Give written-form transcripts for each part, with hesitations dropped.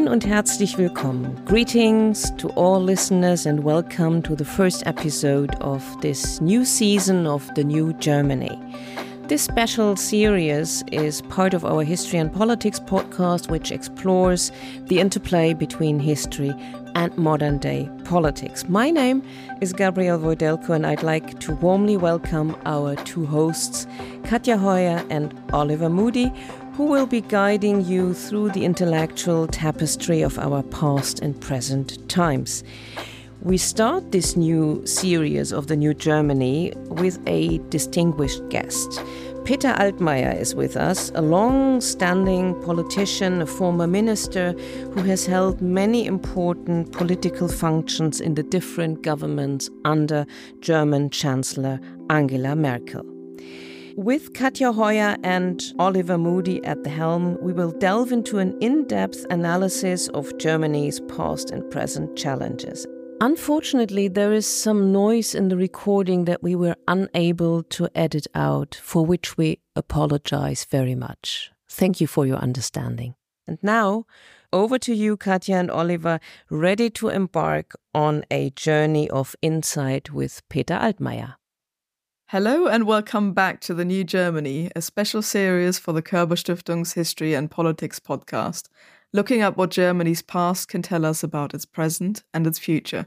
und herzlich willkommen. Greetings to all listeners and welcome to the first episode of this new season of The New Germany. This special series is part of our History and Politics podcast, which explores the interplay between history and modern-day politics. My name is Gabriele Wojdelko, and I'd like to warmly welcome our two hosts, Katja Heuer and Oliver Moody, who will be guiding you through the intellectual tapestry of our past and present times. We start this new series of The New Germany with a distinguished guest. Peter Altmaier is with us, a long-standing politician, a former minister who has held many important political functions in the different governments under German Chancellor Angela Merkel. With Katja Heuer and Oliver Moody at the helm, we will delve into an in-depth analysis of Germany's past and present challenges. Unfortunately, there is some noise in the recording that we were unable to edit out, for which we apologize very much. Thank you for your understanding. And now, over to you, Katja and Oliver, ready to embark on a journey of insight with Peter Altmaier. Hello and welcome back to The New Germany, a special series for the Körber Stiftung's History and Politics podcast, looking at what Germany's past can tell us about its present and its future.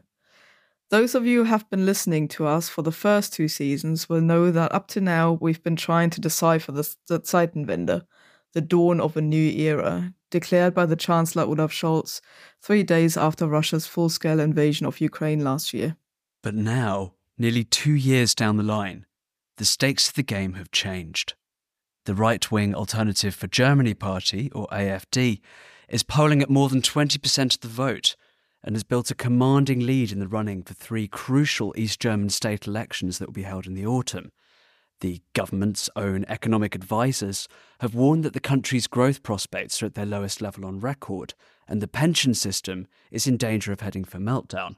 Those of you who have been listening to us for the first two seasons will know that up to now we've been trying to decipher the Zeitenwende, the dawn of a new era, declared by the Chancellor Olaf Scholz 3 days after Russia's full-scale invasion of Ukraine last year. But now, nearly 2 years down the line, the stakes of the game have changed. The right-wing Alternative for Germany Party, or AfD, is polling at more than 20% of the vote and has built a commanding lead in the running for 3 crucial East German state elections that will be held in the autumn. The government's own economic advisers have warned that the country's growth prospects are at their lowest level on record, and the pension system is in danger of heading for meltdown.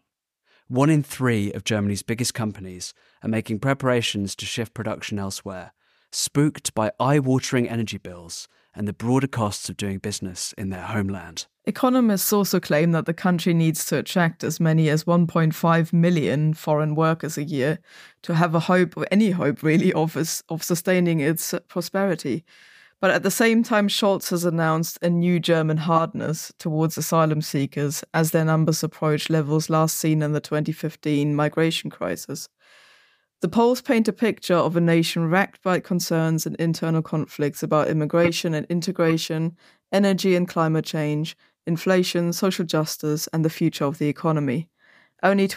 1 in 3 of Germany's biggest companies are making preparations to shift production elsewhere, spooked by eye-watering energy bills and the broader costs of doing business in their homeland. Economists also claim that the country needs to attract as many as 1.5 million foreign workers a year to have a hope, or any hope really, of sustaining its prosperity. But at the same time, Scholz has announced a new German hardness towards asylum seekers as their numbers approach levels last seen in the 2015 migration crisis. The polls paint a picture of a nation racked by concerns and internal conflicts about immigration and integration, energy and climate change, inflation, social justice, and the future of the economy. Only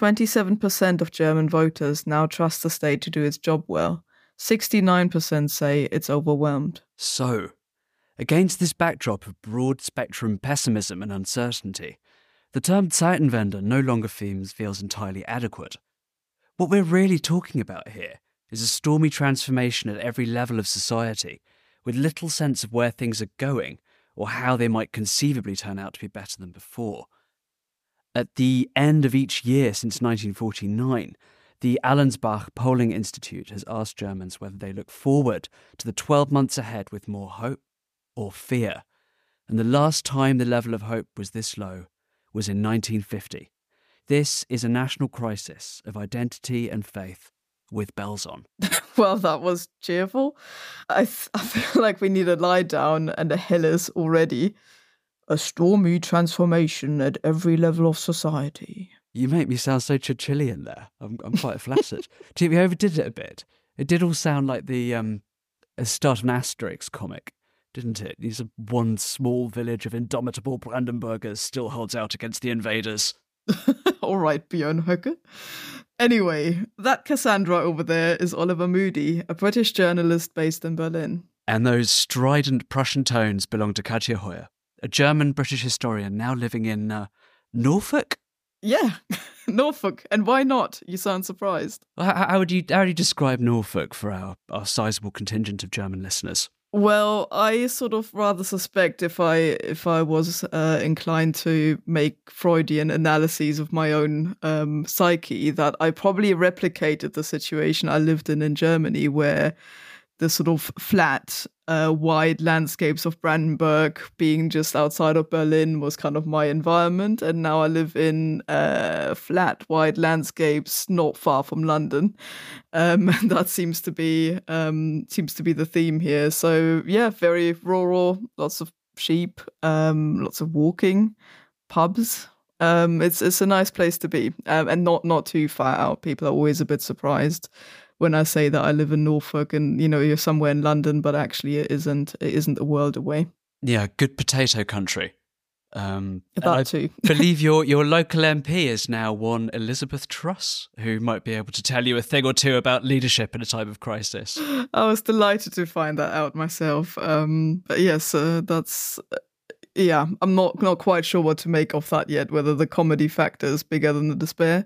27% of German voters now trust the state to do its job well. 69% say it's overwhelmed. So, against this backdrop of broad-spectrum pessimism and uncertainty, the term Zeitenwende no longer feels entirely adequate. What we're really talking about here is a stormy transformation at every level of society, with little sense of where things are going or how they might conceivably turn out to be better than before. At the end of each year since 1949, the Allensbach Polling Institute has asked Germans whether they look forward to the 12 months ahead with more hope or fear. And the last time the level of hope was this low was in 1950. This is a national crisis of identity and faith with bells on. Well, that was cheerful. I feel like we need a lie down and a Hillis already. A stormy transformation at every level of society. You make me sound so Churchillian there. I'm quite flattered. Do you think we overdid it a bit? It did all sound like the start of an Asterix comic, didn't it? These are one small village of indomitable Brandenburgers still holds out against the invaders. All right, Björn Höcke. Anyway, that Cassandra over there is Oliver Moody, a British journalist based in Berlin. And those strident Prussian tones belong to Katja Heuer, a German-British historian now living in Norfolk? Yeah, Norfolk. And why not? You sound surprised. How would you describe Norfolk for our sizable contingent of German listeners? Well, I sort of rather suspect if I was inclined to make Freudian analyses of my own psyche, that I probably replicated the situation I lived in Germany, where the sort of flat, wide landscapes of Brandenburg, being just outside of Berlin, was kind of my environment. And now I live in flat, wide landscapes not far from London. And that seems to be the theme here. So yeah, very rural, lots of sheep, lots of walking, pubs. It's a nice place to be, and not too far out. People are always a bit surprised when I say that I live in Norfolk and, you're somewhere in London, but actually it isn't a world away. Yeah, good potato country. That too. I believe your local MP is now one Elizabeth Truss, who might be able to tell you a thing or two about leadership in a time of crisis. I was delighted to find that out myself. But yes, that's... Yeah, I'm not quite sure what to make of that yet, whether the comedy factor is bigger than the despair.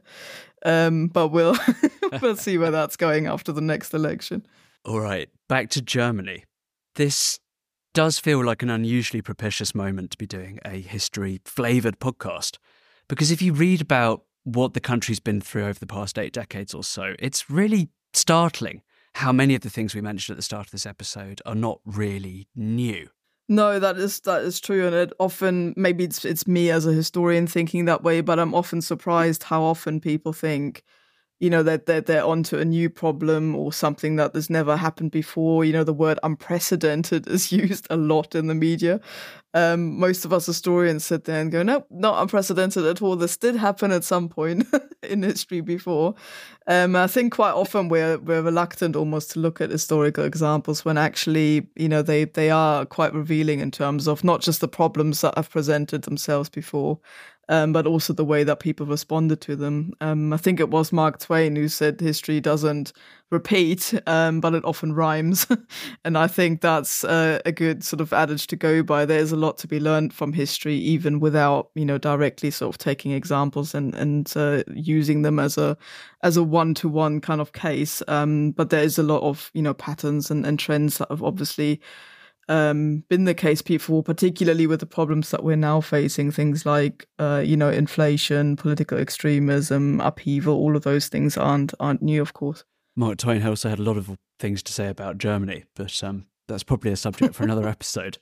But we'll see where that's going after the next election. All right, back to Germany. This does feel like an unusually propitious moment to be doing a history-flavoured podcast. Because if you read about what the country's been through over the past 8 decades or so, it's really startling how many of the things we mentioned at the start of this episode are not really new. No, that is true, and it often, maybe it's me as a historian thinking that way, but I'm often surprised how often people think, that they're onto a new problem or something that has never happened before. The word unprecedented is used a lot in the media. Most of us historians sit there and go, no, not unprecedented at all. This did happen at some point in history before. I think quite often we're reluctant almost to look at historical examples when actually, they are quite revealing in terms of not just the problems that have presented themselves before, but also the way that people responded to them. I think it was Mark Twain who said history doesn't repeat, but it often rhymes. And I think that's a good sort of adage to go by. There's a lot to be learned from history, even without, directly sort of taking examples and using them as a one-to-one kind of case. But there is a lot of, patterns and trends that have obviously been the case before, particularly with the problems that we're now facing, things like inflation, political extremism, upheaval. All of those things aren't new, of course. Mark Twain also had a lot of things to say about Germany, but that's probably a subject for another episode.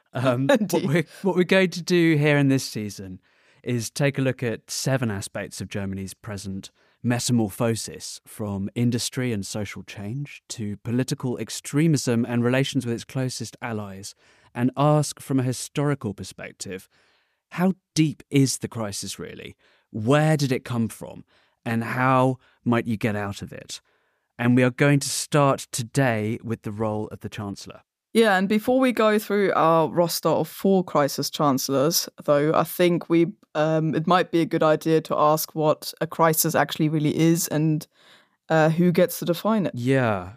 What we're going to do here in this season is take a look at 7 aspects of Germany's present metamorphosis, from industry and social change to political extremism and relations with its closest allies, and ask from a historical perspective, how deep is the crisis really? Where did it come from? And how might you get out of it? And we are going to start today with the role of the Chancellor. Yeah, and before we go through our roster of 4 crisis chancellors, though, I think it might be a good idea to ask what a crisis actually really is and who gets to define it. Yeah.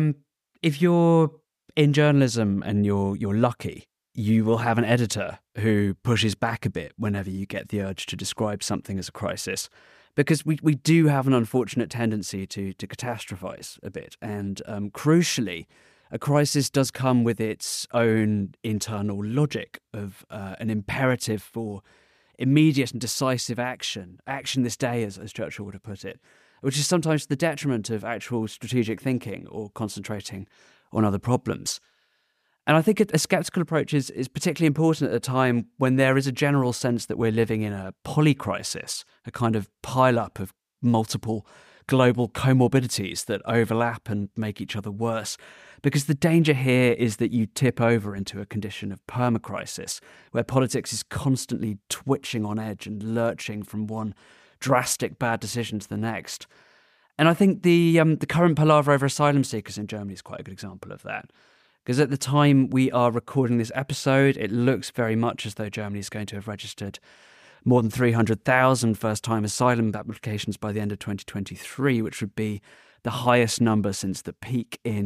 If you're in journalism and you're lucky, you will have an editor who pushes back a bit whenever you get the urge to describe something as a crisis. Because we do have an unfortunate tendency to catastrophize a bit. And crucially, a crisis does come with its own internal logic of an imperative for immediate and decisive action this day, as Churchill would have put it, which is sometimes to the detriment of actual strategic thinking or concentrating on other problems. And I think a sceptical approach is particularly important at a time when there is a general sense that we're living in a polycrisis, a kind of pile-up of multiple global comorbidities that overlap and make each other worse. Because the danger here is that you tip over into a condition of permacrisis, where politics is constantly twitching on edge and lurching from one drastic bad decision to the next. And I think the current palaver over asylum seekers in Germany is quite a good example of that. Because at the time we are recording this episode, it looks very much as though Germany is going to have registered more than 300,000 first-time asylum applications by the end of 2023, which would be the highest number since the peak in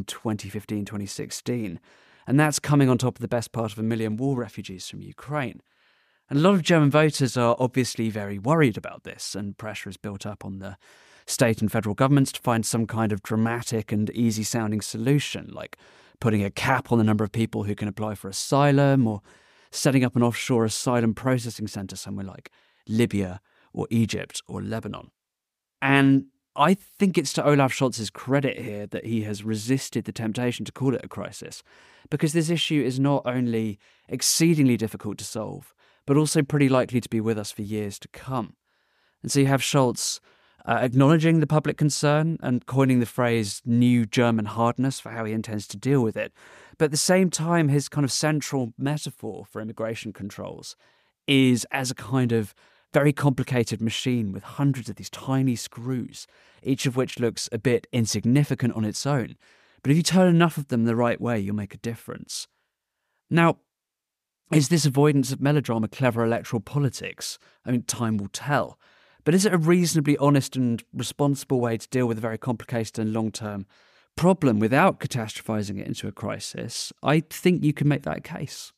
2015-2016. And that's coming on top of the best part of 1 million war refugees from Ukraine. And a lot of German voters are obviously very worried about this, and pressure is built up on the state and federal governments to find some kind of dramatic and easy-sounding solution, like putting a cap on the number of people who can apply for asylum, or setting up an offshore asylum processing centre somewhere like Libya or Egypt or Lebanon. And I think it's to Olaf Scholz's credit here that he has resisted the temptation to call it a crisis, because this issue is not only exceedingly difficult to solve, but also pretty likely to be with us for years to come. And so you have Scholz acknowledging the public concern and coining the phrase new German hardness for how he intends to deal with it. But at the same time, his kind of central metaphor for immigration controls is as a kind of very complicated machine with hundreds of these tiny screws, each of which looks a bit insignificant on its own. But if you turn enough of them the right way, you'll make a difference. Now, is this avoidance of melodrama clever electoral politics? I mean, time will tell. But is it a reasonably honest and responsible way to deal with a very complicated and long-term problem without catastrophizing it into a crisis? I think you can make that case.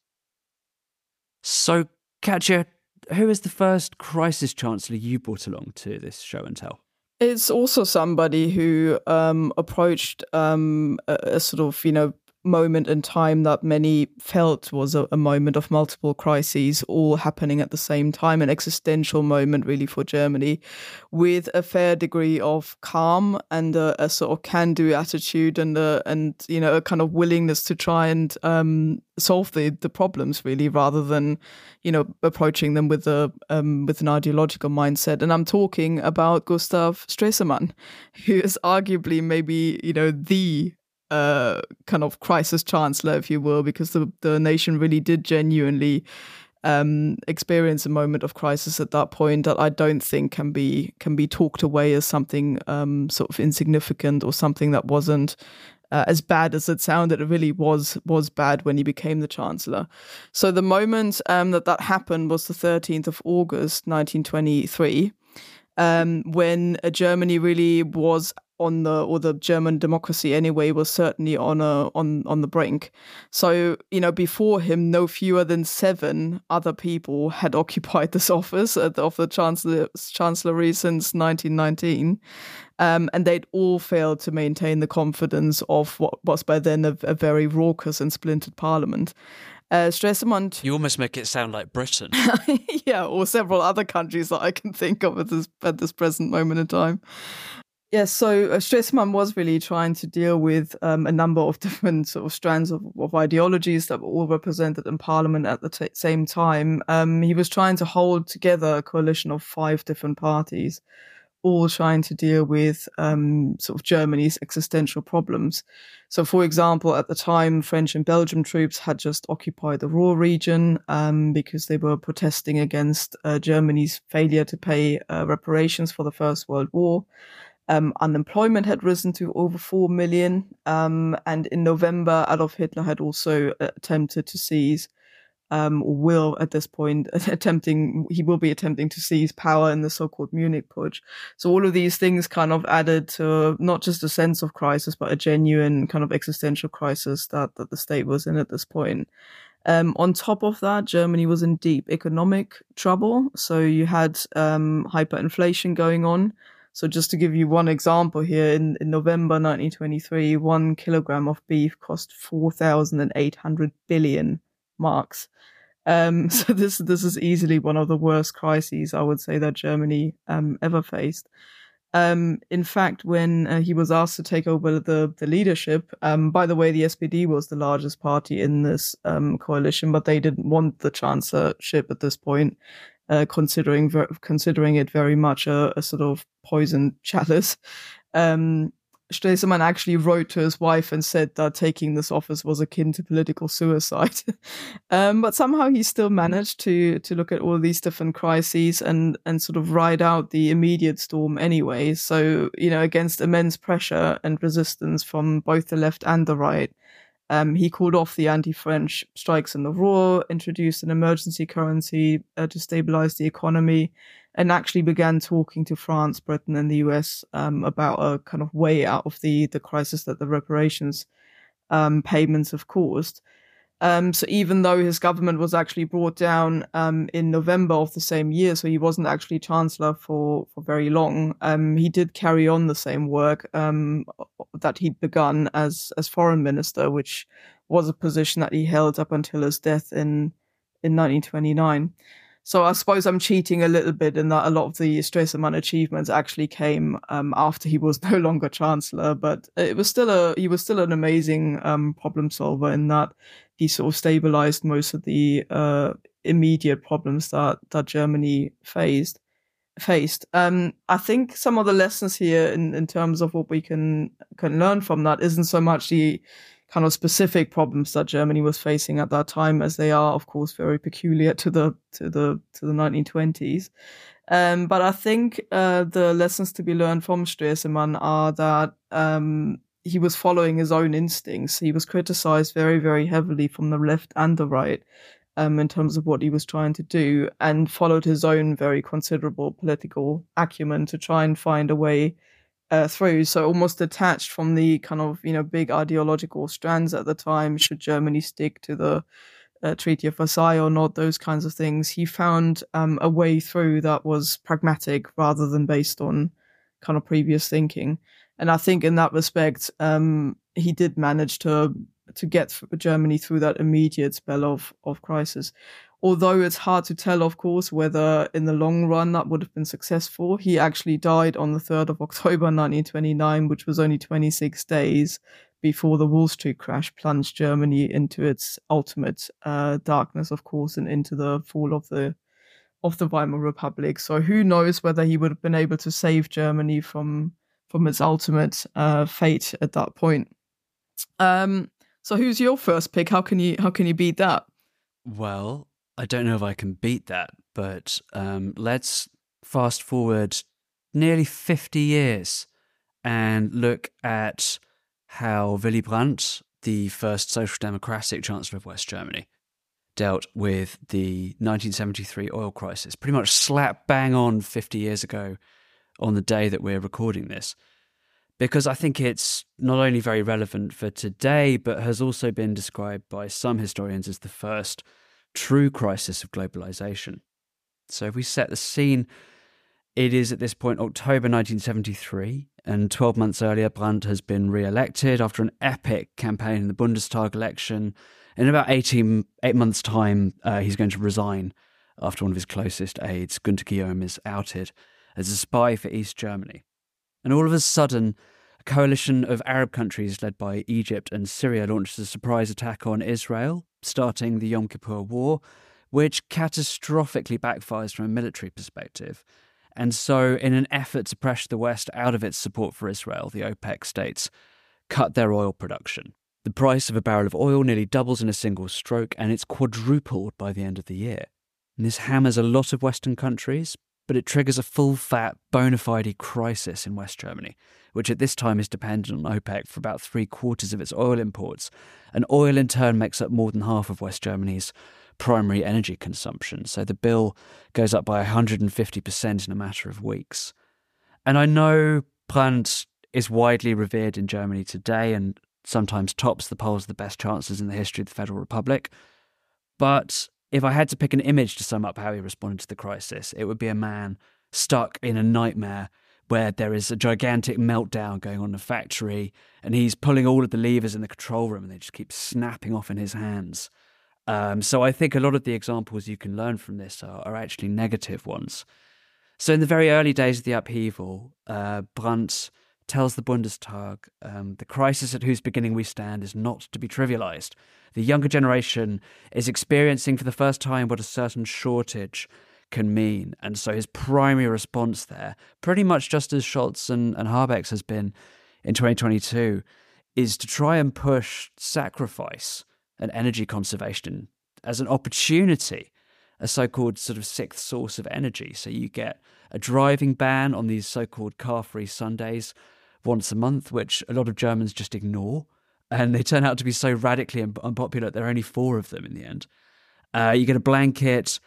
So, Katja, who is the first crisis chancellor you brought along to this show and tell? It's also somebody who approached a sort of, moment in time that many felt was a moment of multiple crises all happening at the same time, an existential moment really for Germany, with a fair degree of calm and a sort of can-do attitude and a kind of willingness to try and solve the problems really, rather than approaching them with an ideological mindset. And I'm talking about Gustav Stresemann, who is arguably maybe the kind of crisis chancellor, if you will, because the nation really did genuinely experience a moment of crisis at that point that I don't think can be talked away as something sort of insignificant or something that wasn't as bad as it sounded. It really was bad when he became the chancellor. So the moment that happened was the 13th of August 1923, when Germany really was the German democracy anyway was certainly on the brink. So, before him, no fewer than 7 other people had occupied this office of the chancellery since 1919. And they'd all failed to maintain the confidence of what was by then a very raucous and splintered parliament. Stresemann... You almost make it sound like Britain. Yeah, or several other countries that I can think of at this present moment in time. Yes, so Stresemann was really trying to deal with a number of different sort of strands of ideologies that were all represented in Parliament at the same time. He was trying to hold together a coalition of 5 different parties, all trying to deal with sort of Germany's existential problems. So, for example, at the time, French and Belgian troops had just occupied the Ruhr region because they were protesting against Germany's failure to pay reparations for the First World War. Unemployment had risen to over 4 million. And in November, Adolf Hitler had also attempted to seize, he will be attempting to seize power in the so-called Munich Putsch. So all of these things kind of added to not just a sense of crisis, but a genuine kind of existential crisis that the state was in at this point. On top of that, Germany was in deep economic trouble. So you had hyperinflation going on. So just to give you one example here, in November 1923, 1 kilogram of beef cost 4,800 billion marks. So this is easily one of the worst crises, I would say, that Germany ever faced. In fact, when he was asked to take over the leadership, by the way, the SPD was the largest party in this coalition, but they didn't want the chancellorship at this point. Considering it very much a sort of poisoned chalice. Stresemann actually wrote to his wife and said that taking this office was akin to political suicide. But somehow he still managed to look at all these different crises and sort of ride out the immediate storm anyway. So, against immense pressure and resistance from both the left and the right, he called off the anti-French strikes in the Ruhr, introduced an emergency currency to stabilize the economy, and actually began talking to France, Britain, and the US about a kind of way out of the crisis that the reparations payments have caused. So even though his government was actually brought down in November of the same year, so he wasn't actually chancellor for very long, he did carry on the same work that he'd begun as foreign minister, which was a position that he held up until his death in 1929. So I suppose I'm cheating a little bit in that a lot of the Stresemann achievements actually came after he was no longer chancellor, but he was still an amazing problem solver in that he sort of stabilized most of the immediate problems that Germany faced. I think some of the lessons here in terms of what we can learn from that isn't so much the kind of specific problems that Germany was facing at that time, as they are, of course, very peculiar to the 1920s. But I think the lessons to be learned from Stresemann are that he was following his own instincts. He was criticized very, very heavily from the left and the right in terms of what he was trying to do, and followed his own very considerable political acumen to try and find a way through. So almost detached from the kind of, big ideological strands at the time, should Germany stick to the Treaty of Versailles or not, those kinds of things. He found a way through that was pragmatic rather than based on kind of previous thinking. And I think in that respect, he did manage to get Germany through that immediate spell of crisis. Although it's hard to tell, of course, whether in the long run that would have been successful. He actually died on the 3rd of October 1929, which was only 26 days before the Wall Street crash plunged Germany into its ultimate darkness, of course, and into the fall of the Weimar Republic. So who knows whether he would have been able to save Germany from its ultimate fate at that point. So who's your first pick? How can you beat that? Well, I don't know if I can beat that, but let's fast forward nearly 50 years and look at how Willy Brandt, the first social democratic chancellor of West Germany, dealt with the 1973 oil crisis, pretty much slap bang on 50 years ago on the day that we're recording this. Because I think it's not only very relevant for today, but has also been described by some historians as the first true crisis of globalization. So if we set the scene, it is at this point October 1973, and 12 months earlier, Brandt has been re-elected after an epic campaign in the Bundestag election. In about 8 months' time, he's going to resign after one of his closest aides, Günther Guillaume, is outed as a spy for East Germany. And all of a sudden, a coalition of Arab countries led by Egypt and Syria launched a surprise attack on Israel, starting the Yom Kippur War, which catastrophically backfires from a military perspective. And so, in an effort to pressure the West out of its support for Israel, the OPEC states cut their oil production. The price of a barrel of oil nearly doubles in a single stroke, and it's quadrupled by the end of the year. And this hammers a lot of Western countries, but it triggers a full-fat, bona fide crisis in West Germany, which at this time is dependent on OPEC for about 3/4 of its oil imports. And oil, in turn, makes up more than half of West Germany's primary energy consumption. So the bill goes up by 150% in a matter of weeks. And I know Brandt is widely revered in Germany today and sometimes tops the polls of the best chancellors in the history of the Federal Republic. But if I had to pick an image to sum up how he responded to the crisis, it would be a man stuck in a nightmare where there is a gigantic meltdown going on in a factory and he's pulling all of the levers in the control room and they just keep snapping off in his hands. So I think a lot of the examples you can learn from this are actually negative ones. So in the very early days of the upheaval, Brandt tells the Bundestag, the crisis at whose beginning we stand is not to be trivialized. The younger generation is experiencing for the first time what a certain shortage can mean. And so his primary response there, pretty much just as Scholz and Habeck's has been in 2022, is to try and push sacrifice and energy conservation as an opportunity, a so-called sort of sixth source of energy. So you get a driving ban on these so-called car-free Sundays once a month, which a lot of Germans just ignore. And they turn out to be so radically unpopular, there are only 4 of them in the end. You get a blanket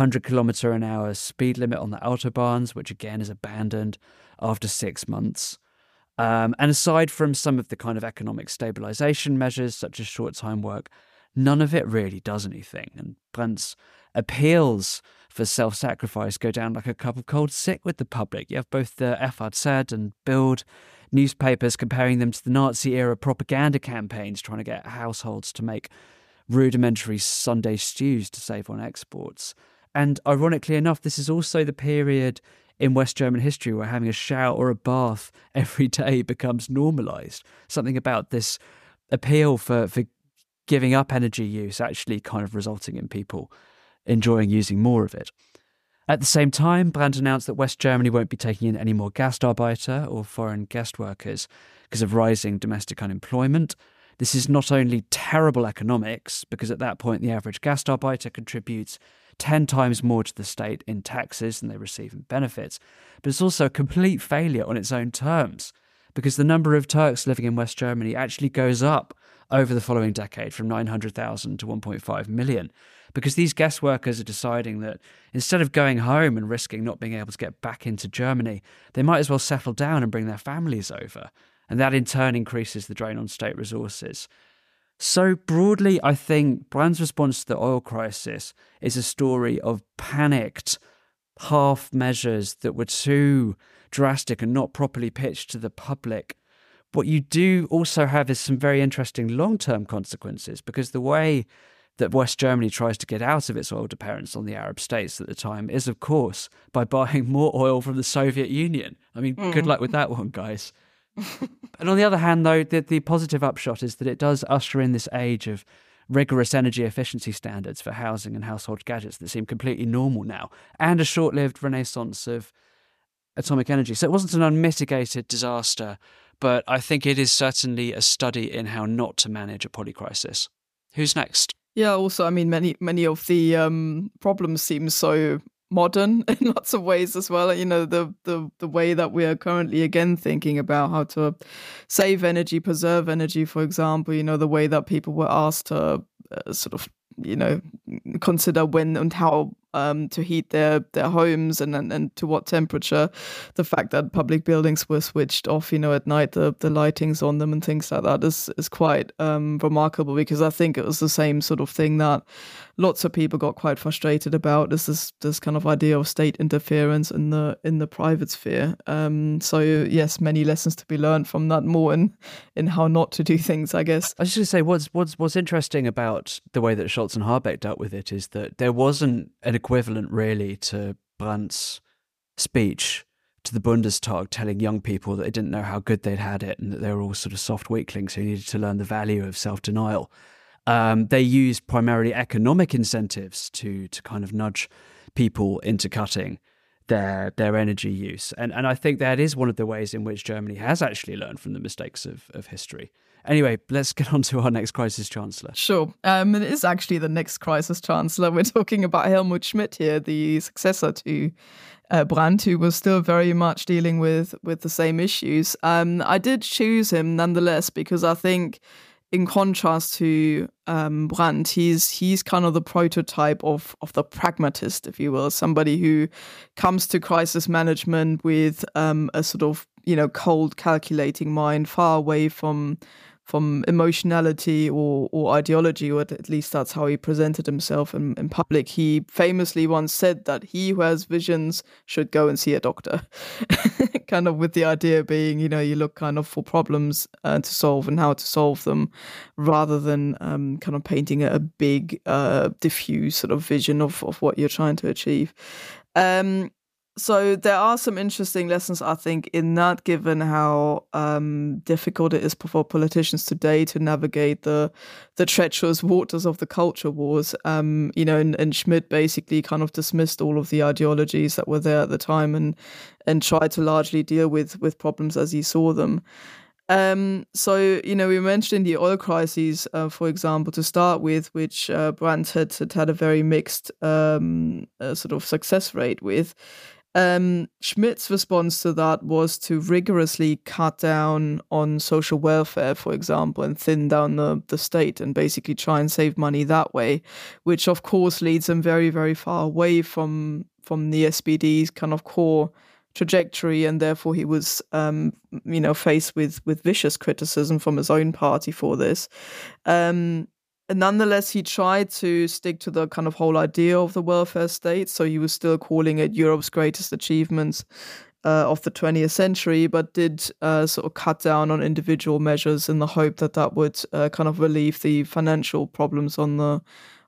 100km/h speed limit on the Autobahns, which again is abandoned after 6 months. And aside from some of the kind of economic stabilization measures, such as short-time work, none of it really does anything. And Brandt's appeals for self-sacrifice go down like a cup of cold sick with the public. You have both the FAZ and Bild newspapers comparing them to the Nazi-era propaganda campaigns, trying to get households to make rudimentary Sunday stews to save on exports. And ironically enough, this is also the period in West German history where having a shower or a bath every day becomes normalised. Something about this appeal for giving up energy use actually kind of resulting in people enjoying using more of it. At the same time, Brandt announced that West Germany won't be taking in any more Gastarbeiter or foreign guest workers because of rising domestic unemployment. This is not only terrible economics, because at that point the average Gastarbeiter contributes 10 times more to the state in taxes than they receive in benefits, but it's also a complete failure on its own terms, because the number of Turks living in West Germany actually goes up over the following decade from 900,000 to 1.5 million, because these guest workers are deciding that instead of going home and risking not being able to get back into Germany, they might as well settle down and bring their families over. And that in turn increases the drain on state resources. So broadly, I think Brandt's response to the oil crisis is a story of panicked half measures that were too drastic and not properly pitched to the public. What you do also have is some very interesting long-term consequences, because the way that West Germany tries to get out of its oil dependence on the Arab states at the time is, of course, by buying more oil from the Soviet Union. I mean, good luck with that one, guys. And on the other hand, though, the positive upshot is that it does usher in this age of rigorous energy efficiency standards for housing and household gadgets that seem completely normal now, and a short-lived renaissance of atomic energy. So it wasn't an unmitigated disaster, but I think it is certainly a study in how not to manage a polycrisis. Who's next? Yeah, also, I mean, many of the problems seem so modern in lots of ways as well. You know, the way that we are currently again thinking about how to save energy, preserve energy, for example, you know, the way that people were asked to sort of, you know, consider when and how to heat their homes and to what temperature. The fact that public buildings were switched off, you know, at night, the lightings on them and things like that is quite remarkable, because I think it was the same sort of thing that lots of people got quite frustrated about, is this kind of idea of state interference in the private sphere. So yes, many lessons to be learned from that, more in how not to do things, I guess. I was just going to say, what's interesting about the way that Scholz and Habeck dealt with it is that there wasn't an equivalent really to Brandt's speech to the Bundestag telling young people that they didn't know how good they'd had it and that they were all sort of soft weaklings who needed to learn the value of self-denial. They used primarily economic incentives to kind of nudge people into cutting their energy use. And I think that is one of the ways in which Germany has actually learned from the mistakes of history. Anyway, let's get on to our next crisis chancellor. Sure. It is actually the next crisis chancellor. We're talking about Helmut Schmidt here, the successor to Brandt, who was still very much dealing with the same issues. I did choose him nonetheless because I think, in contrast to Brandt, he's kind of the prototype of the pragmatist, if you will, somebody who comes to crisis management with a sort of, you know, cold, calculating mind, far away from emotionality or ideology, or at least that's how he presented himself in public. He famously once said that he who has visions should go and see a doctor, kind of with the idea being, you know, you look kind of for problems to solve and how to solve them, rather than kind of painting a big, diffuse sort of vision of what you're trying to achieve. So there are some interesting lessons, I think, in that, given how difficult it is for politicians today to navigate the treacherous waters of the culture wars. You know, and Schmidt basically kind of dismissed all of the ideologies that were there at the time and tried to largely deal with problems as he saw them. So, you know, we mentioned the oil crises, for example, to start with, which Brandt had a very mixed sort of success rate with. Schmidt's response to that was to rigorously cut down on social welfare, for example, and thin down the state and basically try and save money that way, which of course leads him very, very far away from the SPD's kind of core trajectory, and therefore he was you know, faced with vicious criticism from his own party for this. And nonetheless, he tried to stick to the kind of whole idea of the welfare state. So he was still calling it Europe's greatest achievements of the 20th century, but did sort of cut down on individual measures in the hope that would kind of relieve the financial problems on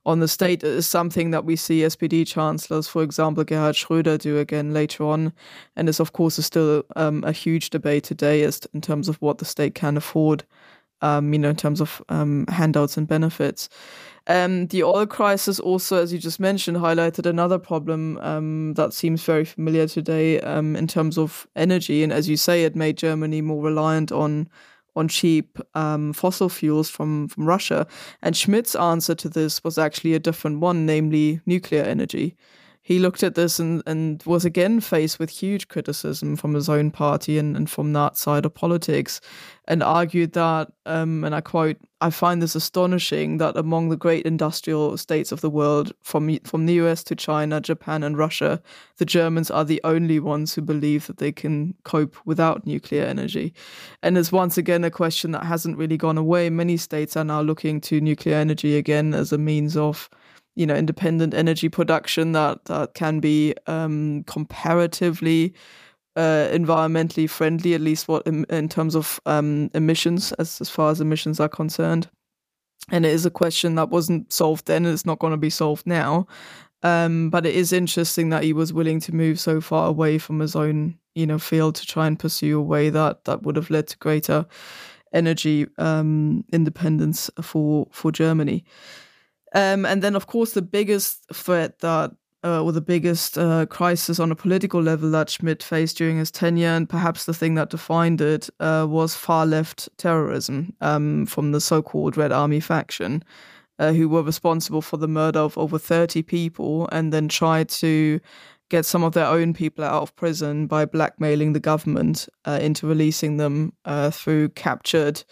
on the state. It is something that we see SPD chancellors, for example, Gerhard Schröder, do again later on. And is, of course, still a huge debate today as in terms of what the state can afford, in terms of handouts and benefits. The oil crisis also, as you just mentioned, highlighted another problem that seems very familiar today in terms of energy. And as you say, it made Germany more reliant on cheap fossil fuels from Russia. And Schmidt's answer to this was actually a different one, namely nuclear energy. He looked at this and was again faced with huge criticism from his own party and from that side of politics, and argued that, and I quote, "I find this astonishing that among the great industrial states of the world, from the US to China, Japan and Russia, the Germans are the only ones who believe that they can cope without nuclear energy." And it's once again a question that hasn't really gone away. Many states are now looking to nuclear energy again as a means of independent energy production that can be comparatively environmentally friendly, at least what in terms of emissions, as far as emissions are concerned. And it is a question that wasn't solved then, and it's not going to be solved now. But it is interesting that he was willing to move so far away from his own field to try and pursue a way that would have led to greater energy independence for Germany. And then, of course, the biggest threat or the biggest crisis on a political level that Schmidt faced during his tenure, and perhaps the thing that defined it, was far-left terrorism from the so-called Red Army faction, who were responsible for the murder of over 30 people and then tried to get some of their own people out of prison by blackmailing the government into releasing them through captured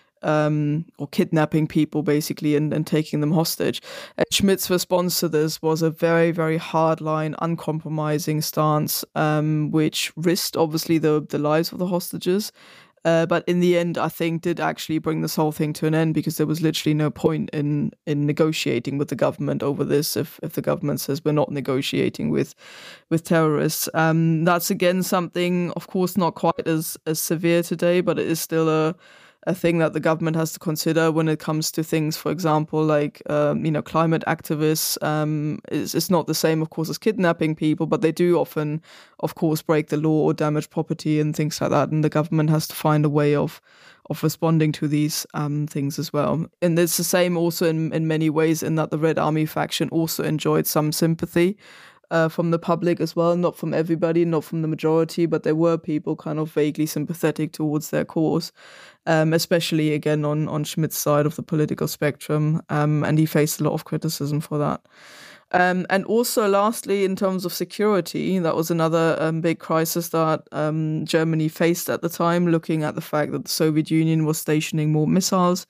or kidnapping people, basically, and taking them hostage. And Schmidt's response to this was a very, very hardline, uncompromising stance, which risked, obviously, the lives of the hostages. But in the end, I think did actually bring this whole thing to an end, because there was literally no point in negotiating with the government over this if the government says we're not negotiating with terrorists. That's, again, something, of course, not quite as severe today, but it is still a thing that the government has to consider when it comes to things, for example, like, climate activists. It's not the same, of course, as kidnapping people, but they do often, of course, break the law or damage property and things like that. And the government has to find a way of responding to these things as well. And it's the same also in many ways, in that the Red Army faction also enjoyed some sympathy from the public as well, not from everybody, not from the majority, but there were people kind of vaguely sympathetic towards their cause, especially, again, on Schmidt's side of the political spectrum, and he faced a lot of criticism for that. And also, lastly, in terms of security, that was another big crisis that Germany faced at the time, looking at the fact that the Soviet Union was stationing more missiles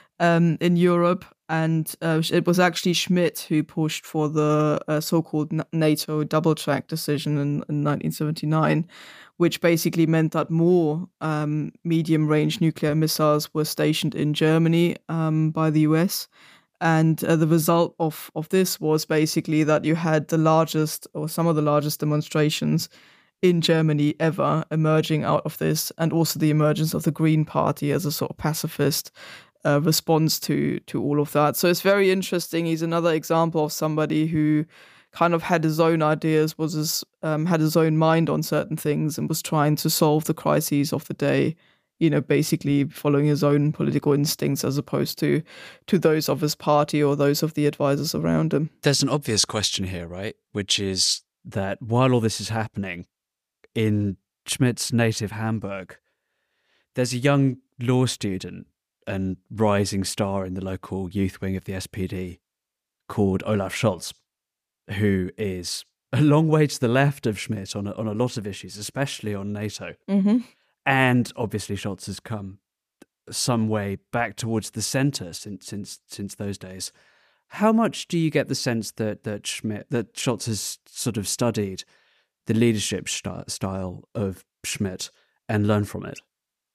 in Europe. And it was actually Schmidt who pushed for the so-called NATO double-track decision in 1979, which basically meant that more medium-range nuclear missiles were stationed in Germany by the US. And the result of this was basically that you had the largest, or some of the largest, demonstrations in Germany ever emerging out of this, and also the emergence of the Green Party as a sort of pacifist response to all of that. So it's very interesting. He's another example of somebody who kind of had his own ideas, had his own mind on certain things, and was trying to solve the crises of the day, basically following his own political instincts as opposed to those of his party or those of the advisors around him. There's an obvious question here, right? Which is that while all this is happening in Schmidt's native Hamburg, there's a young law student and rising star in the local youth wing of the SPD called Olaf Scholz, who is a long way to the left of Schmidt on a lot of issues, especially on NATO. Mm-hmm. And obviously Scholz has come some way back towards the centre since those days. How much do you get the sense that Scholz has sort of studied the leadership style of Schmidt and learned from it?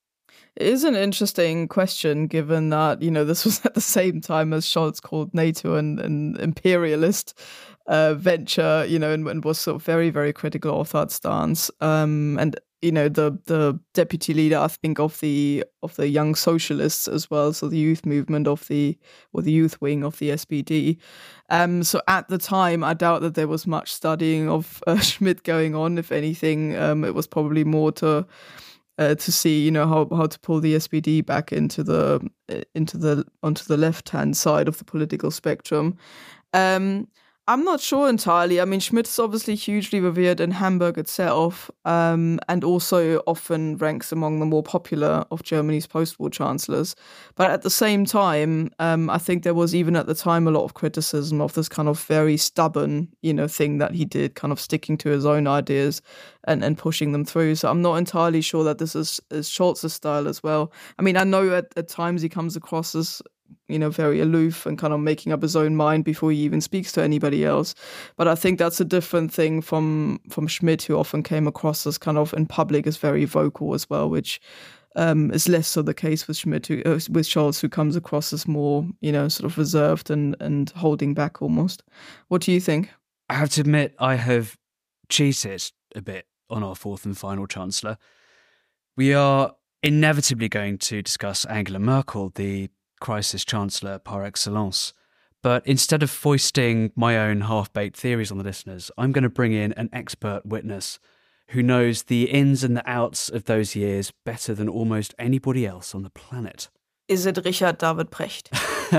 It is an interesting question, given that, this was at the same time as Scholz called NATO an imperialist venture, and was sort of very, very critical of that stance. And the deputy leader, I think, of the Young Socialists as well, so the youth movement or the youth wing of the SPD. So at the time, I doubt that there was much studying of Schmidt going on. If anything, it was probably more to see, how to pull the SPD back onto the left-hand side of the political spectrum. I'm not sure entirely. I mean, Schmidt is obviously hugely revered in Hamburg itself, and also often ranks among the more popular of Germany's post-war chancellors. But at the same time, I think there was even at the time a lot of criticism of this kind of very stubborn, thing that he did, kind of sticking to his own ideas and pushing them through. So I'm not entirely sure that this is Scholz's style as well. I mean, I know at times he comes across as very aloof and kind of making up his own mind before he even speaks to anybody else. But I think that's a different thing from Schmidt, who often came across as kind of in public as very vocal as well, which is less so the case with Schmidt, with Scholz, who comes across as more, sort of reserved and holding back almost. What do you think? I have to admit, I have cheated a bit on our fourth and final chancellor. We are inevitably going to discuss Angela Merkel, the crisis chancellor par excellence. But instead of foisting my own half-baked theories on the listeners, I'm going to bring in an expert witness who knows the ins and the outs of those years better than almost anybody else on the planet. Is it Richard David Precht?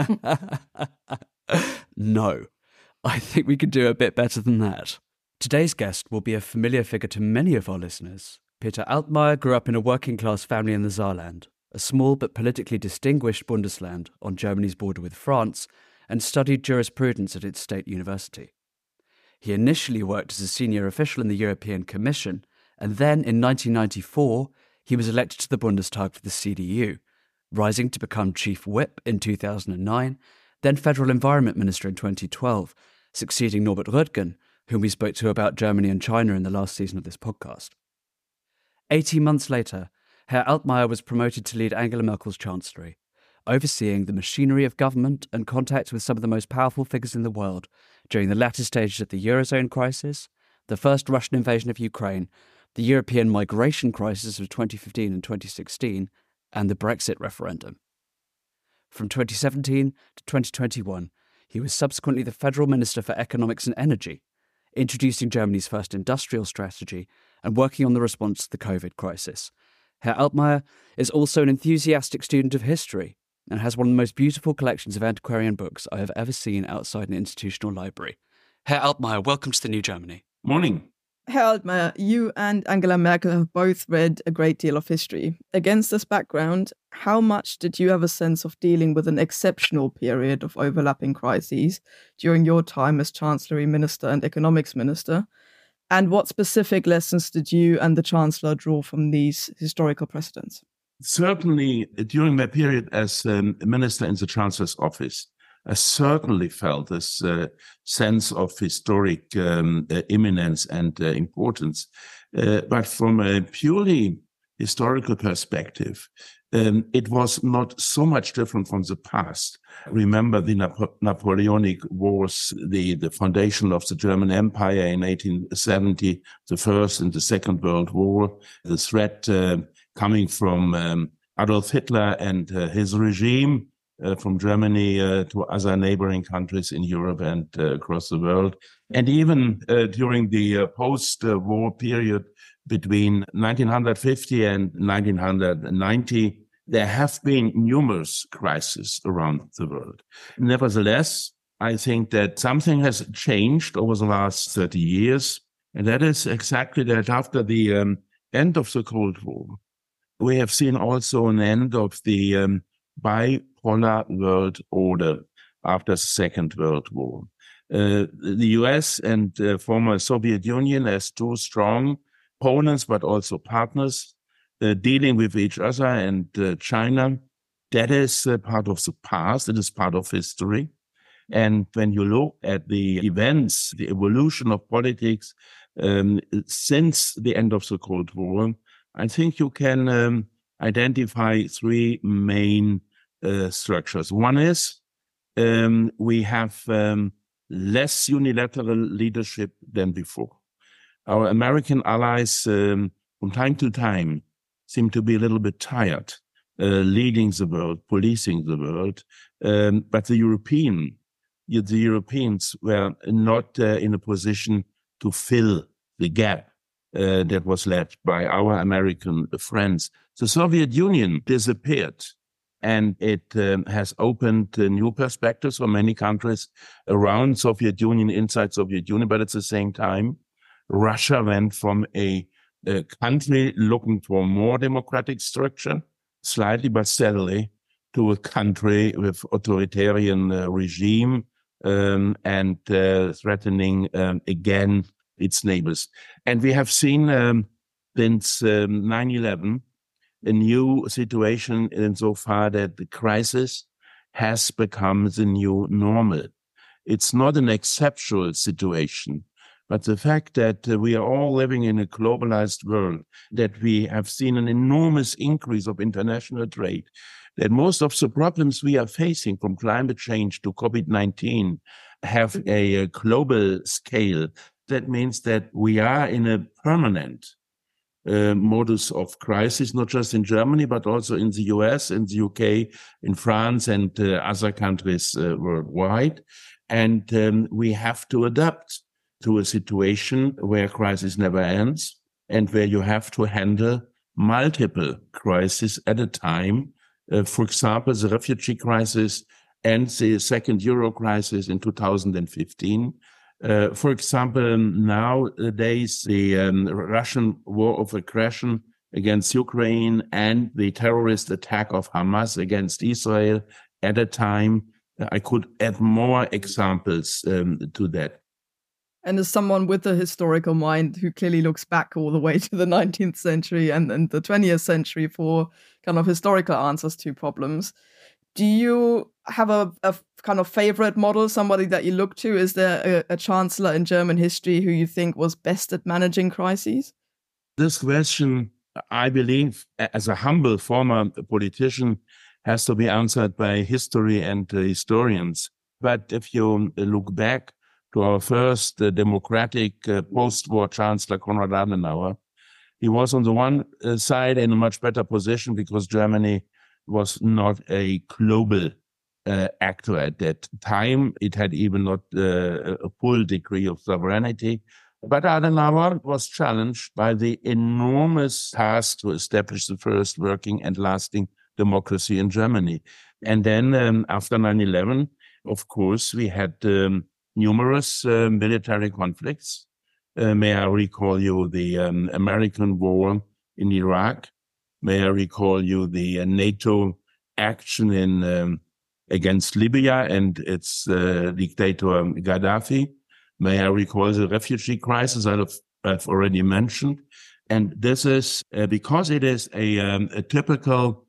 No, I think we could do a bit better than that. Today's guest will be a familiar figure to many of our listeners. Peter Altmaier grew up in a working-class family in the Saarland, a small but politically distinguished Bundesland on Germany's border with France, and studied jurisprudence at its state university. He initially worked as a senior official in the European Commission, and then in 1994 he was elected to the Bundestag for the CDU, rising to become chief whip in 2009, then federal environment minister in 2012, succeeding Norbert Röttgen, whom we spoke to about Germany and China in the last season of this podcast. 18 months later, Herr Altmaier was promoted to lead Angela Merkel's chancellery, overseeing the machinery of government and contact with some of the most powerful figures in the world during the latter stages of the Eurozone crisis, the first Russian invasion of Ukraine, the European migration crisis of 2015 and 2016, and the Brexit referendum. From 2017 to 2021, he was subsequently the Federal Minister for Economics and Energy, introducing Germany's first industrial strategy and working on the response to the COVID crisis. Herr Altmaier is also an enthusiastic student of history and has one of the most beautiful collections of antiquarian books I have ever seen outside an institutional library. Herr Altmaier, welcome to the New Germany. Morning. Herr Altmaier, you and Angela Merkel have both read a great deal of history. Against this background, how much did you have a sense of dealing with an exceptional period of overlapping crises during your time as Chancellery Minister and Economics Minister? And what specific lessons did you and the Chancellor draw from these historical precedents? Certainly, during my period as a minister in the Chancellor's office, I certainly felt this sense of historic imminence and importance. But from a purely historical perspective, it was not so much different from the past. Remember the Napoleonic Wars, the foundation of the German Empire in 1870, the First and the Second World War, the threat coming from Adolf Hitler and his regime from Germany to other neighboring countries in Europe and across the world. And even during the post-war period, between 1950 and 1990, there have been numerous crises around the world. Nevertheless, I think that something has changed over the last 30 years, and that is exactly that after the end of the Cold War, we have seen also an end of the bipolar world order after the Second World War. The US and former Soviet Union as two strong opponents, but also partners, dealing with each other, and China, that is part of the past. It is part of history. And when you look at the events, the evolution of politics since the end of the Cold War, I think you can identify three main structures. One is we have less unilateral leadership than before. Our American allies from time to time, seemed to be a little bit tired, leading the world, policing the world. But the Europeans were not in a position to fill the gap that was left by our American friends. The Soviet Union disappeared, and it has opened new perspectives for many countries around Soviet Union, inside Soviet Union. But at the same time, Russia went from a country looking for more democratic structure, slightly but steadily, to a country with authoritarian regime and threatening again its neighbors. And we have seen since 9/11 a new situation insofar that the crisis has become the new normal. It's not an exceptional situation, but the fact that we are all living in a globalized world, that we have seen an enormous increase of international trade, that most of the problems we are facing, from climate change to COVID-19, have a global scale. That means that we are in a permanent modus of crisis, not just in Germany, but also in the US, in the UK, in France, and other countries worldwide. And we have to adapt to a situation where crisis never ends and where you have to handle multiple crises at a time. For example, the refugee crisis and the second Euro crisis in 2015. For example, nowadays, the Russian war of aggression against Ukraine and the terrorist attack of Hamas against Israel at a time. I could add more examples to that. And as someone with a historical mind who clearly looks back all the way to the 19th century and the 20th century for kind of historical answers to problems, do you have a kind of favorite model, somebody that you look to? Is there a chancellor in German history who you think was best at managing crises? This question, I believe, as a humble former politician, has to be answered by history and historians. But if you look back to our first democratic post-war chancellor, Konrad Adenauer, he was on the one side in a much better position because Germany was not a global actor at that time. It had even not a full degree of sovereignty. But Adenauer was challenged by the enormous task to establish the first working and lasting democracy in Germany. And then after 9/11, of course, we had numerous military conflicts. May I recall you the American war in Iraq? May I recall you the NATO action in against Libya and its dictator Gaddafi? May I recall the refugee crisis I've already mentioned? And this is because it is a typical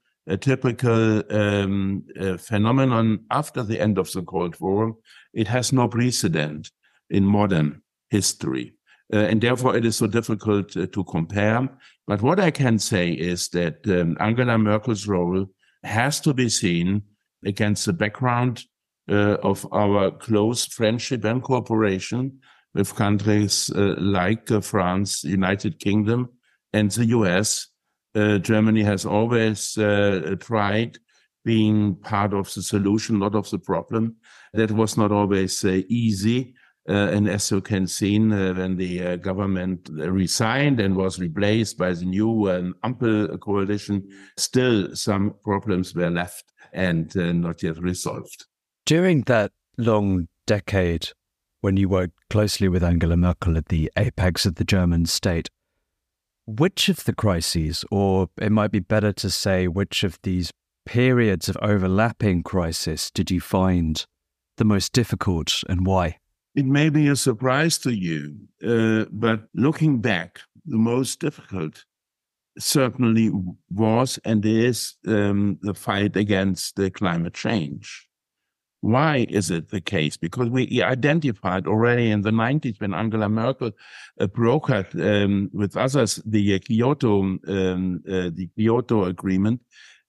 phenomenon after the end of the Cold War. It has no precedent in modern history. And therefore, it is so difficult to compare. But what I can say is that Angela Merkel's role has to be seen against the background of our close friendship and cooperation with countries like France, United Kingdom, and the US. Germany has always tried being part of the solution, not of the problem. That was not always easy. And as you can see, when the government resigned and was replaced by the new Ampel coalition, still some problems were left and not yet resolved. During that long decade, when you worked closely with Angela Merkel at the apex of the German state, which of the crises, or it might be better to say, which of these periods of overlapping crisis did you find the most difficult and why? It may be a surprise to you, but looking back, the most difficult certainly was and is the fight against the climate change. Why is it the case? Because we identified already in the 90s when Angela Merkel brokered with others the Kyoto Agreement.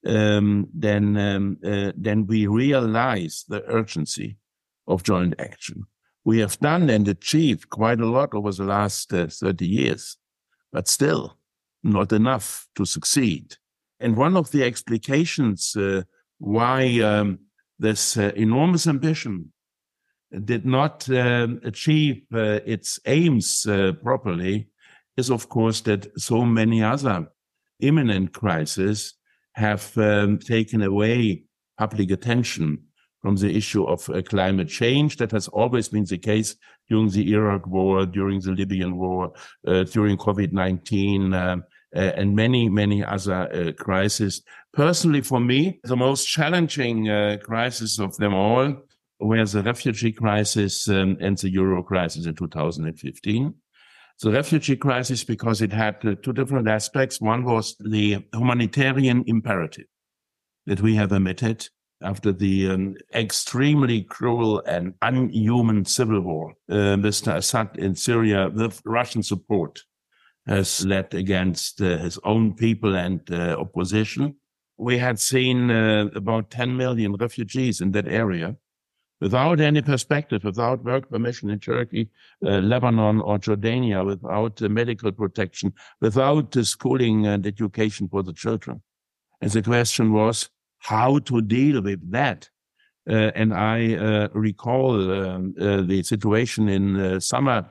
Then we realized the urgency of joint action. We have done and achieved quite a lot over the last 30 years, but still not enough to succeed. And one of the explications why this enormous ambition did not achieve its aims properly is, of course, that so many other imminent crises have taken away public attention from the issue of climate change. That has always been the case during the Iraq War, during the Libyan War, during COVID-19, and many other crises. Personally, for me, the most challenging crisis of them all were the refugee crisis and the Euro crisis in 2015. The refugee crisis, because it had two different aspects. One was the humanitarian imperative that we have emitted after the extremely cruel and unhuman civil war. Mr. Assad in Syria, with Russian support, has led against his own people and opposition. We had seen about 10 million refugees in that area without any perspective, without work permission in Turkey, Lebanon, or Jordania, without medical protection, without schooling and education for the children. And the question was how to deal with that. And I recall the situation in summer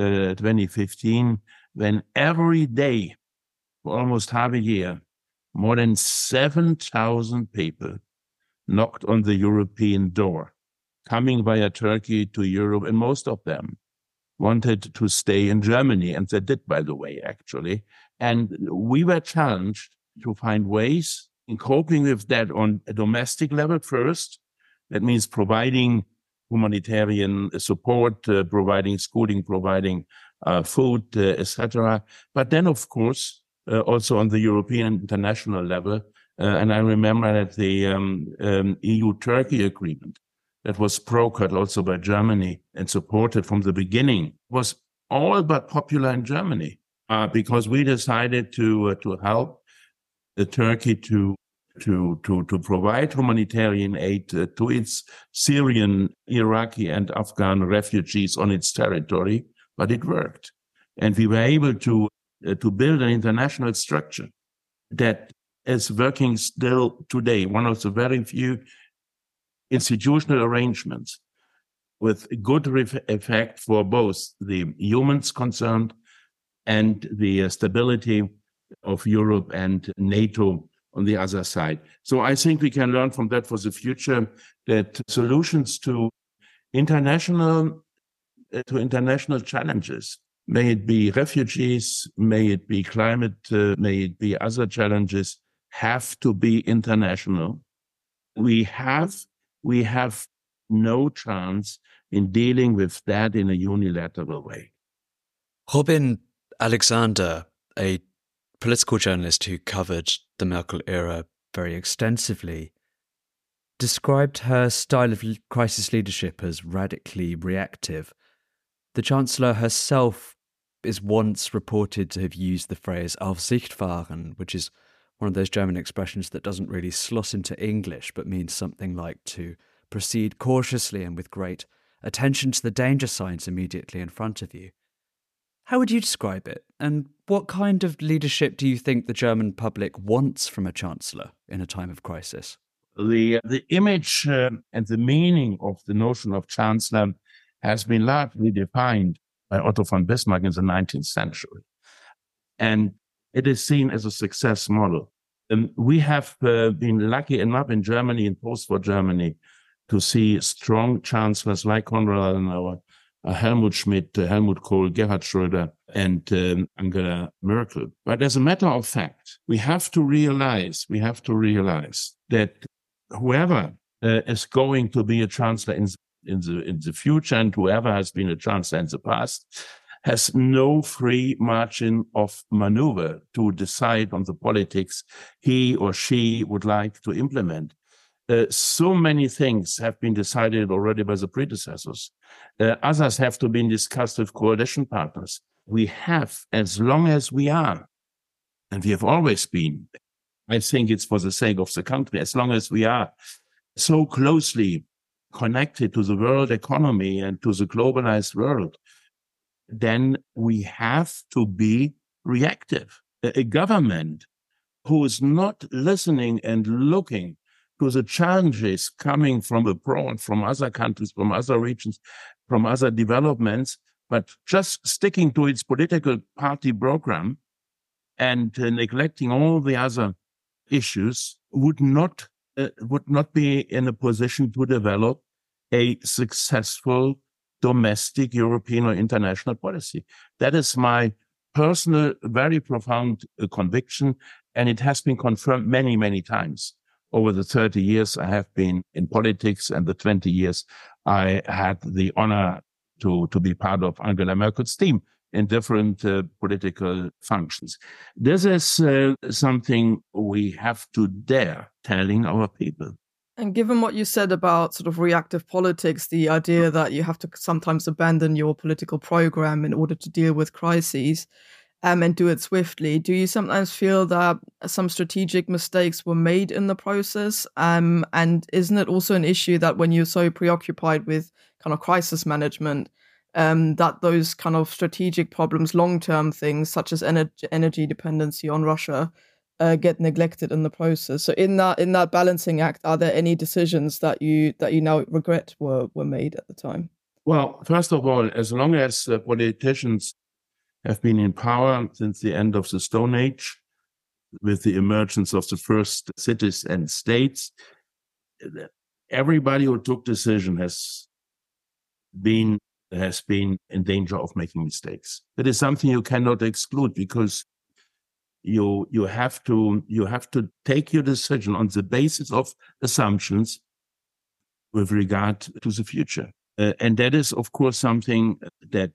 2015, when every day for almost half a year, more than 7,000 people knocked on the European door, coming via Turkey to Europe, and most of them wanted to stay in Germany, and they did, by the way, actually. And we were challenged to find ways in coping with that on a domestic level first. That means providing humanitarian support, providing schooling, providing food, etc. But then, of course, also on the European and international level. And I remember that the EU-Turkey agreement that was brokered also by Germany and supported from the beginning was all but popular in Germany because we decided to help Turkey to provide humanitarian aid to its Syrian, Iraqi, and Afghan refugees on its territory, but it worked. And we were able to build an international structure that is working still today, one of the very few institutional arrangements with good effect for both the humans concerned and the stability of Europe and NATO on the other side. So I think we can learn from that for the future that solutions to international challenges, may it be refugees, may it be climate, may it be other challenges, have to be international. We have no chance in dealing with that in a unilateral way. Robin Alexander, a political journalist who covered the Merkel era very extensively, described her style of crisis leadership as radically reactive. The Chancellor herself is once reported to have used the phrase Aufsicht-fahren, which is one of those German expressions that doesn't really slot into English, but means something like to proceed cautiously and with great attention to the danger signs immediately in front of you. How would you describe it? And what kind of leadership do you think the German public wants from a chancellor in a time of crisis? The image and the meaning of the notion of chancellor has been largely defined by Otto von Bismarck in the 19th century. And it is seen as a success model. We have been lucky enough in Germany, in post-war Germany, to see strong chancellors like Konrad Adenauer, Helmut Schmidt, Helmut Kohl, Gerhard Schröder, and Angela Merkel. But as a matter of fact, we have to realize that whoever is going to be a chancellor in the future, and whoever has been a chancellor in the past, has no free margin of maneuver to decide on the politics he or she would like to implement. So many things have been decided already by the predecessors. Others have to be discussed with coalition partners. We have, as long as we are, and we have always been, I think it's for the sake of the country, as long as we are so closely connected to the world economy and to the globalized world, then we have to be reactive. a government who is not listening and looking to the challenges coming from abroad, from other countries, from other regions, from other developments, but just sticking to its political party program and neglecting all the other issues would not be in a position to develop a successful domestic European or international policy. That is my personal, very profound conviction, and it has been confirmed many, many times. Over the 30 years I have been in politics, and the 20 years I had the honor to be part of Angela Merkel's team in different political functions. This is something we have to dare telling our people. And given what you said about sort of reactive politics, the idea that you have to sometimes abandon your political program in order to deal with crises, and do it swiftly, do you sometimes feel that some strategic mistakes were made in the process? And isn't it also an issue that when you're so preoccupied with kind of crisis management, that those kind of strategic problems, long-term things such as energy dependency on Russia, get neglected in the process? So in that balancing act, are there any decisions that you now regret were made at the time? Well, first of all, as long as politicians have been in power since the end of the Stone Age, with the emergence of the first cities and states, everybody who took decision has been in danger of making mistakes. That is something you cannot exclude, because you have to take your decision on the basis of assumptions with regard to the future, and that is, of course, something that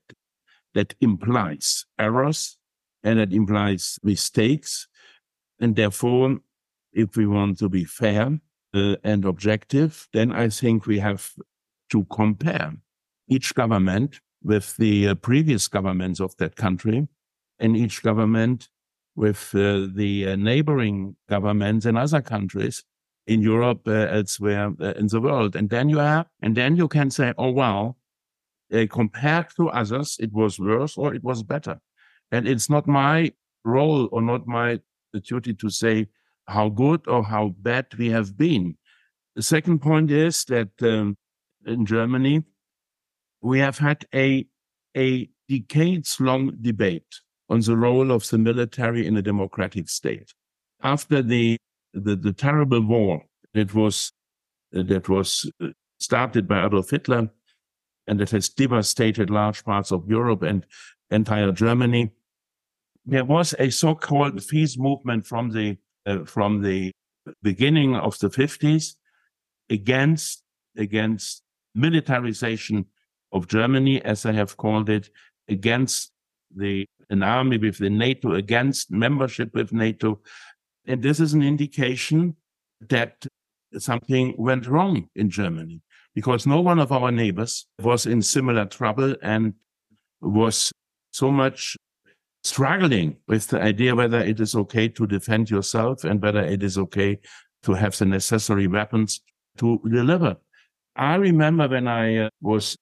implies errors and that implies mistakes. And therefore, if we want to be fair and objective, then I think we have to compare each government with the previous governments of that country, and each government with the neighboring governments in other countries in Europe, elsewhere in the world. And then you can say, oh, wow, compared to others, it was worse or it was better. And it's not my role or not my duty to say how good or how bad we have been. The second point is that in Germany, we have had a decades-long debate on the role of the military in a democratic state. After the terrible war that was started by Adolf Hitler, and it has devastated large parts of Europe and entire Germany, there was a so-called peace movement from the beginning of the 50s against militarization of Germany, as I have called it, against an army with the NATO, against membership with NATO. And this is an indication that something went wrong in Germany, because no one of our neighbors was in similar trouble and was so much struggling with the idea whether it is okay to defend yourself and whether it is okay to have the necessary weapons to deliver. I remember when I was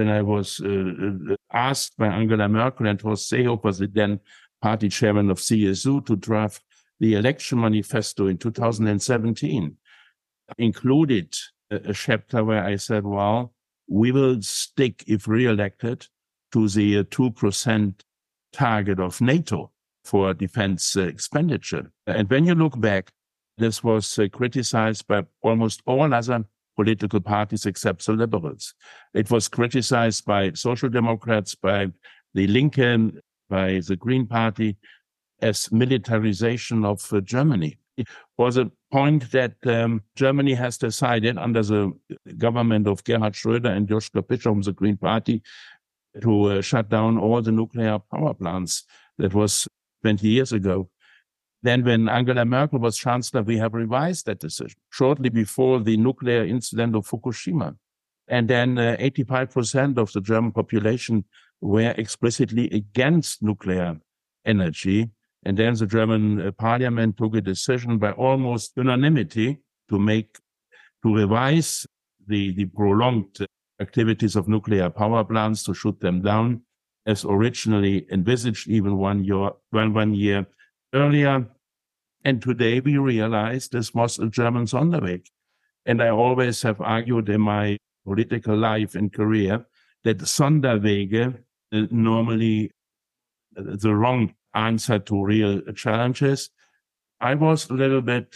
asked by Angela Merkel and Horst Seehofer, the then party chairman of CSU, to draft the election manifesto in 2017, included a chapter where I said, well, we will stick, if re-elected, to the 2% target of NATO for defense expenditure. And when you look back, this was criticized by almost all other political parties except the liberals. It was criticized by Social Democrats, by the Linke, by the Green Party, as militarization of Germany. It was a point that Germany has decided under the government of Gerhard Schröder and Joschka Fischer from the Green Party to shut down all the nuclear power plants. That was 20 years ago. Then when Angela Merkel was chancellor, we have revised that decision shortly before the nuclear incident of Fukushima. And then 85% of the German population were explicitly against nuclear energy. And then the German parliament took a decision by almost unanimity to revise the prolonged activities of nuclear power plants, to shoot them down as originally envisaged, even one year earlier. And today we realize this was a German Sonderweg. And I always have argued in my political life and career that Sonderwege normally the wrong answer to real challenges. I was a little bit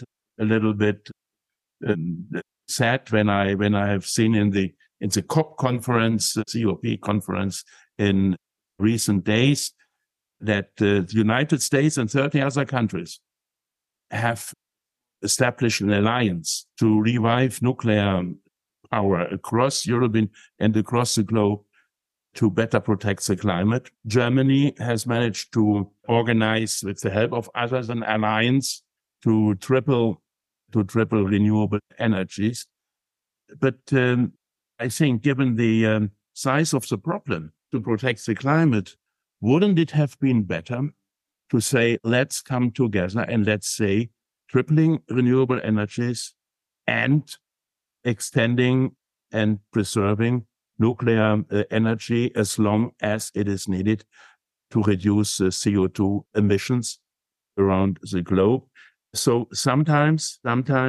sad when I have seen in the COP conference, the COP conference in recent days, that the United States and 30 other countries have established an alliance to revive nuclear power across Europe and across the globe to better protect the climate. Germany has managed to organize, with the help of others, an alliance to triple renewable energies. But I think given the size of the problem to protect the climate, wouldn't it have been better to say, let's come together and let's say tripling renewable energies and extending and preserving nuclear energy as long as it is needed to reduce CO2 emissions around the globe. So sometimes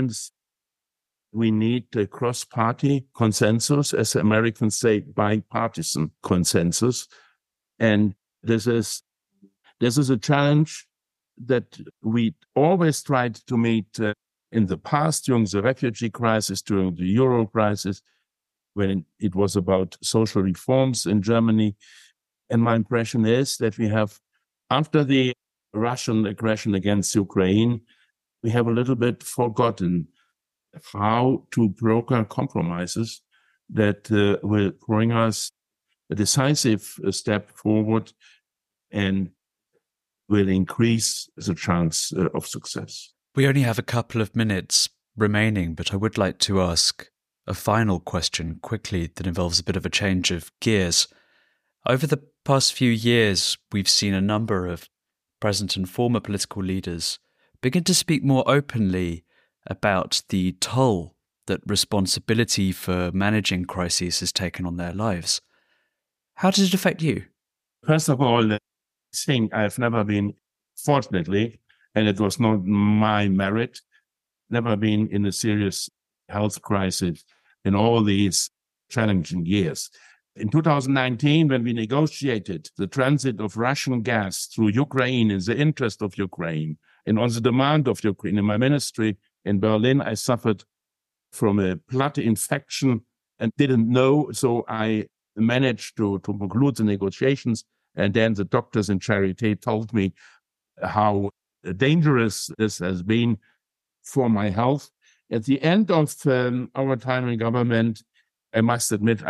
we need a cross-party consensus, as the Americans say, bipartisan consensus. And this is a challenge that we always tried to meet in the past, during the refugee crisis, during the Euro crisis, when it was about social reforms in Germany. And my impression is that we have, after the Russian aggression against Ukraine, we have a little bit forgotten how to broker compromises that will bring us a decisive step forward and will increase the chance of success. We only have a couple of minutes remaining, but I would like to ask a final question quickly that involves a bit of a change of gears. Over the past few years, we've seen a number of present and former political leaders begin to speak more openly about the toll that responsibility for managing crises has taken on their lives. How does it affect you? First of all, I think I've never been, fortunately, and it was not my merit, never been in a serious health crisis in all these challenging years. In 2019, when we negotiated the transit of Russian gas through Ukraine in the interest of Ukraine and on the demand of Ukraine, in my ministry in Berlin, I suffered from a blood infection and didn't know. So I managed to conclude the negotiations. And then the doctors in Charité told me how dangerous this has been for my health. At the end of our time in government, I must admit,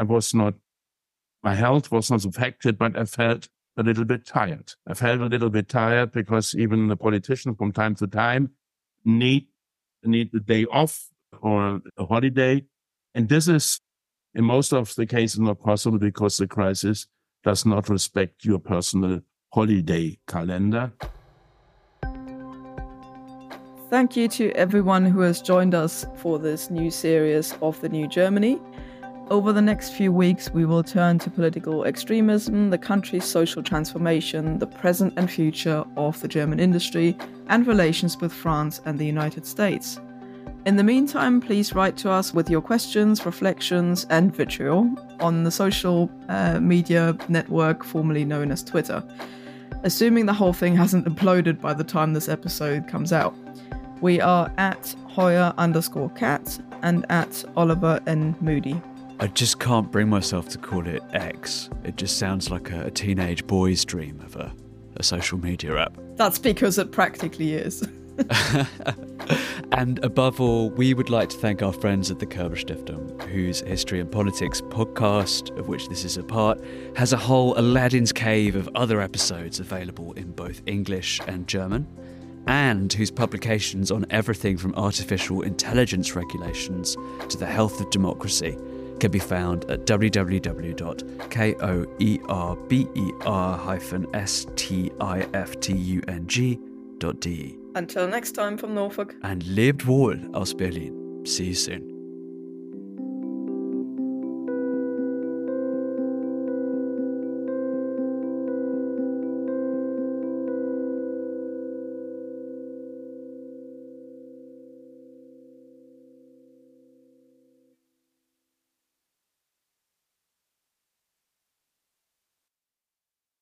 my health was not affected, but I felt a little bit tired. I felt a little bit tired because even the politicians from time to time need a day off or a holiday. And this is, in most of the cases, not possible because the crisis does not respect your personal holiday calendar. Thank you to everyone who has joined us for this new series of The New Germany. Over the next few weeks, we will turn to political extremism, the country's social transformation, the present and future of the German industry, and relations with France and the United States. In the meantime, please write to us with your questions, reflections, and vitriol on the social media network formerly known as Twitter, assuming the whole thing hasn't imploded by the time this episode comes out. We are at Hoyer_cat and at Oliver N. Moody. I just can't bring myself to call it X. It just sounds like a teenage boy's dream of a social media app. That's because it practically is. And above all, we would like to thank our friends at the Körber Stiftung, whose History and Politics podcast, of which this is a part, has a whole Aladdin's Cave of other episodes available in both English and German, and whose publications on everything from artificial intelligence regulations to the health of democracy can be found at www.koerber-stiftung.de. Until next time from Norfolk. And lebt wohl aus Berlin. See you soon.